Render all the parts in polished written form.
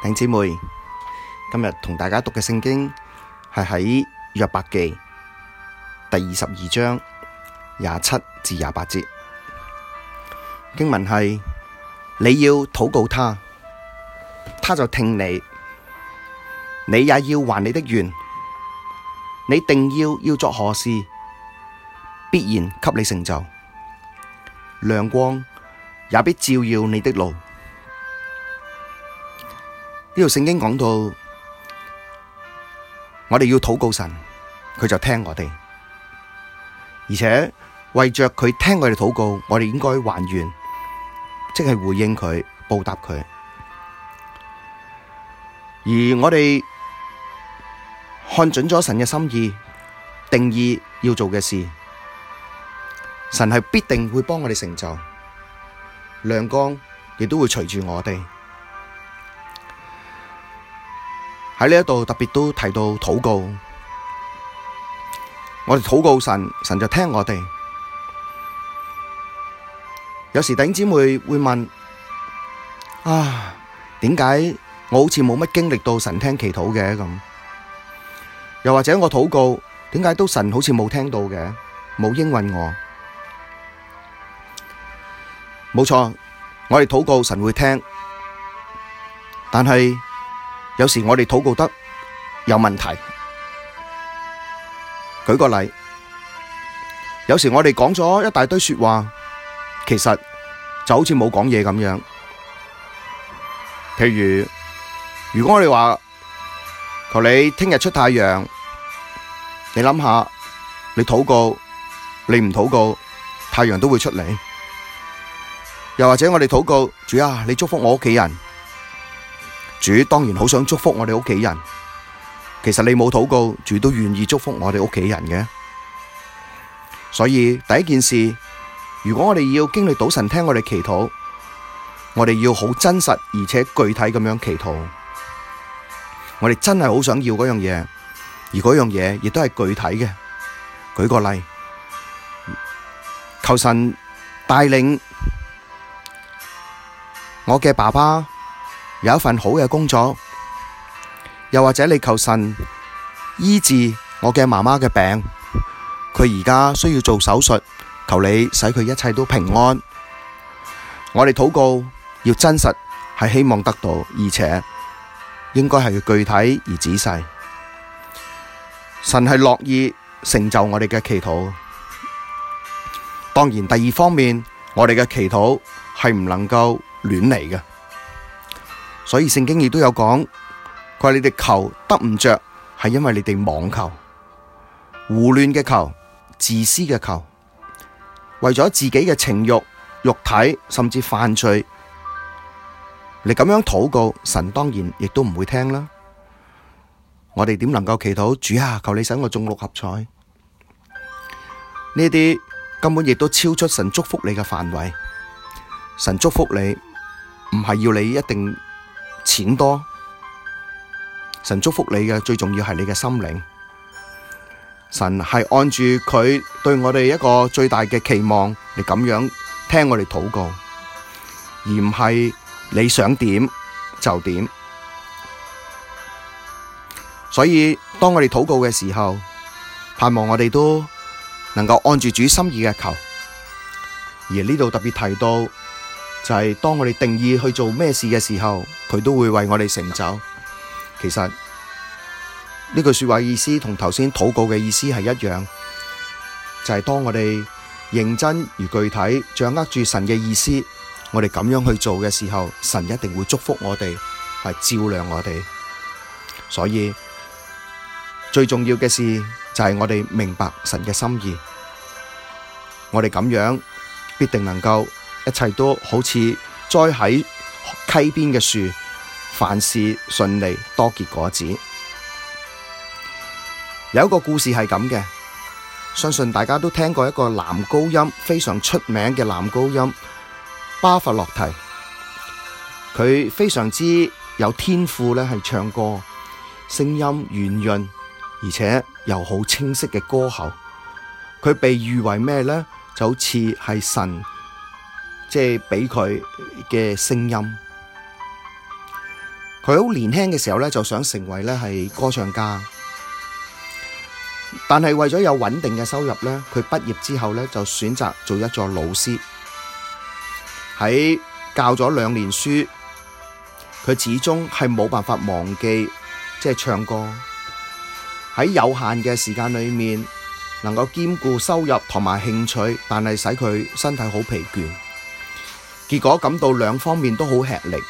兄姊妹，今日同大家讀嘅聖經係喺約伯記第22章27至28節。經文係：你要禱告他，他就聽你；你也要還你的願。你定要作何事，必然給你成就。亮光也必照耀你的路。呢度聖經講到，我哋要禱告神，佢就聽我哋，而且為着佢聽我哋禱告，我哋應該還願，即係回應佢，報答佢。而我哋看準咗神嘅心意，定意要做嘅事，神係必定會幫我哋成就。亮光亦都會隨住我哋。喺呢一度特別都提到禱告，我哋禱告神，神就聽我哋。有時弟兄姊妹會問：點解我好似冇乜經歷到神聽祈禱嘅咁？又或者我禱告，點解都神好似冇聽到嘅，冇應允我？冇錯，我哋禱告神會聽，但係有時我哋禱告得有問題。舉個例，有時我哋講咗一大堆說話，其實就好似冇講嘢咁樣。譬如果我哋話求你聽日出太陽，你諗下，你禱告，你唔禱告，太陽都會出嚟。又或者我哋禱告，主啊，你祝福我屋企人。主當然好想祝福我哋屋企人，其實你冇禱告，主都願意祝福我哋屋企人嘅。所以第一件事，如果我哋要經歷到神聽我哋祈禱，我哋要好真實而且具體咁樣祈禱。我哋真係好想要嗰樣嘢，而嗰樣嘢亦都係具體嘅。舉個例，求神帶領我嘅爸爸有一份好嘅工作，又或者你求神醫治我嘅媽媽嘅病，佢而家需要做手術，求你使佢一切都平安。我哋禱告要真實，係希望得到，而且應該係具體而仔細。神係樂意成就我哋嘅祈禱。當然，第二方面，我哋嘅祈禱係唔能夠亂嚟嘅。所以聖經亦都有講，佢話你哋求得唔着，係因為你哋妄求、胡亂嘅求、自私嘅求，為咗自己嘅情慾、肉體，甚至犯罪，你咁樣禱告，神當然亦都唔會聽啦。我哋點能夠祈禱？主啊，求你使我中六合彩。呢啲根本亦都超出神祝福你嘅範圍。神祝福你，唔係要你一定錢多，神祝福你嘅最重要係你嘅心靈。神係按住佢對我哋一個最大嘅期望，你咁樣聽我哋禱告，而唔係你想點就點。所以當我哋禱告嘅時候，盼望我哋都能夠按住主心意嘅求。而呢度特別提到，就係當我哋定意去做咩事嘅時候，佢都會為我哋成就。其實呢句說話意思同頭先禱告嘅意思係一樣，就係當我哋認真而具體掌握住神嘅意思，我哋咁樣去做嘅時候，神一定會祝福我哋，係照亮我哋。所以最重要嘅事就係我哋明白神嘅心意，我哋咁樣必定能夠一切都好似栽喺溪邊嘅樹，凡事順利，多結果子。有一個故事係咁嘅，相信大家都聽過一個男高音非常出名嘅男高音巴伐洛提，佢非常之有天賦咧，係唱歌，聲音圓潤，而且又好清晰嘅歌喉。佢被譽為咩呢？就好似係神即係俾佢嘅聲音。 佢好年輕嘅時候咧就想成為咧係歌唱家，但係為咗有穩定嘅收入咧，佢畢業之後咧就選擇做一座老師。喺教咗2年書，佢始終係冇辦法忘記即係唱歌。喺有限嘅時間裏面，能夠兼顧收入同埋興趣，但係使佢身體好疲倦，結果感到2方面都好吃力。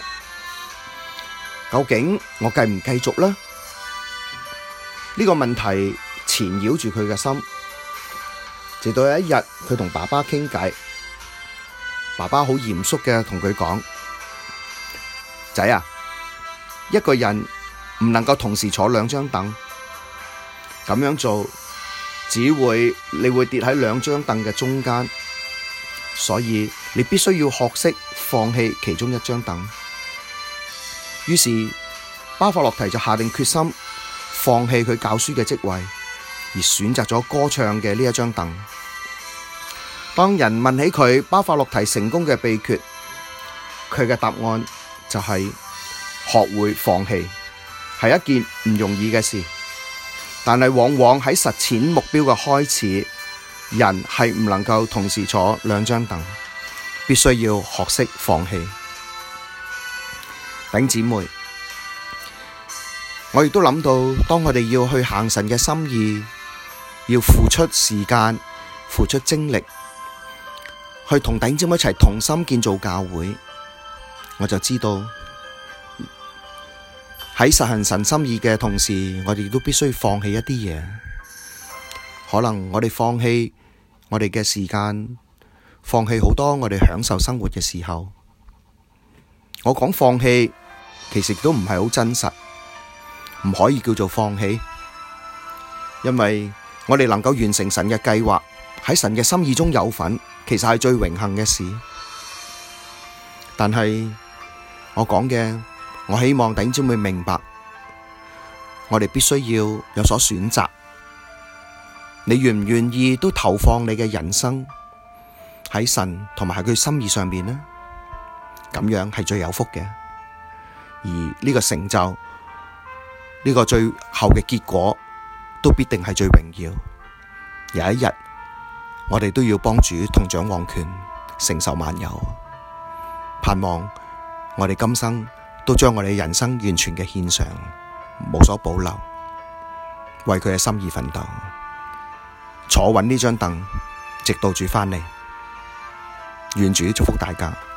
究竟我繼唔繼續呢？呢個問題纏繞住佢嘅心，直到有一日佢同爸爸傾偈，爸爸好嚴肅嘅同佢講：仔啊，一個人唔能夠同時坐2張凳，咁樣做你會跌喺2張凳嘅中間，所以你必須要學識放棄其中1張凳。於是巴法洛提就下定決心放棄佢教書嘅職位，而選擇咗歌唱嘅呢1張凳。當人問起佢巴法洛提成功嘅秘訣，佢嘅答案就係學會放棄，係一件唔容易嘅事。但係往往喺實踐目標嘅開始，人係唔能夠同時坐2張凳，必須要學識放棄。弟兄姊妹，我亦都諗到，當我哋要去行神嘅心意，要付出時間、付出精力，去同弟兄姊妹一齊同心建造教會，我就知道喺實行神心意嘅同時，我哋都必須放棄一啲嘢。可能我哋放棄我哋嘅時間，放棄好多我哋享受生活嘅時候。我講放棄，其實都唔係好真實，唔可以叫做放棄，因為我哋能夠完成神嘅計劃，喺神嘅心意中有份，其實係最榮幸嘅事。但係我講嘅，我希望弟兄姊妹明白，我哋必須要有所選擇。你願唔願意都投放你嘅人生喺神同埋喺佢心意上面呢？咁樣係最有福嘅。而呢個成就，呢個最後嘅結果，都必定係最榮耀。有一日，我哋都要幫主同掌王權，承受萬有。盼望我哋今生都將我哋人生完全嘅獻上，無所保留，為佢嘅心意奮鬥，坐穩呢張凳，直到主返嚟。願主祝福大家。